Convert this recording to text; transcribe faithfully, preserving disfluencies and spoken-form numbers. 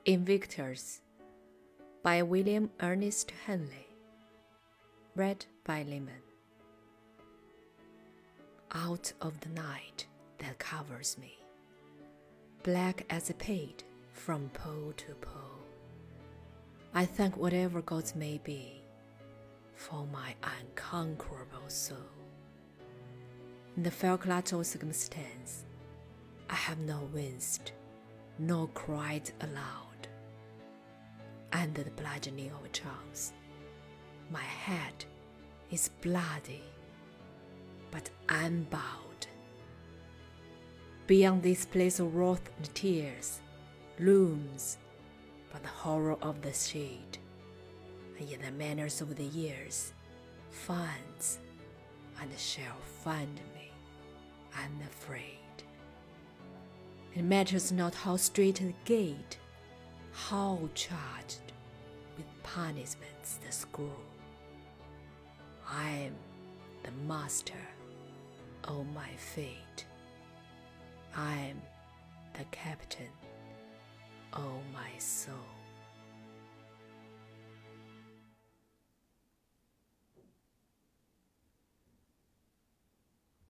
Invictus by William Ernest Henley. Read by Lehman. Out of the night that covers me, black as a pate from pole to pole, I thank whatever gods may be for my unconquerable soul. In the Facultative circumstance, I have not winced nor cried aloud. Under the bludgeoning of chance, my head is bloody, but unbowed. Beyond this place of wrath and tears looms but the horror of the shade, and yet the manners of the years finds and shall find me unafraid. It matters not how strait the gate, how charged with punishments the scroll. I am the master of my fate. I am the captain of my soul.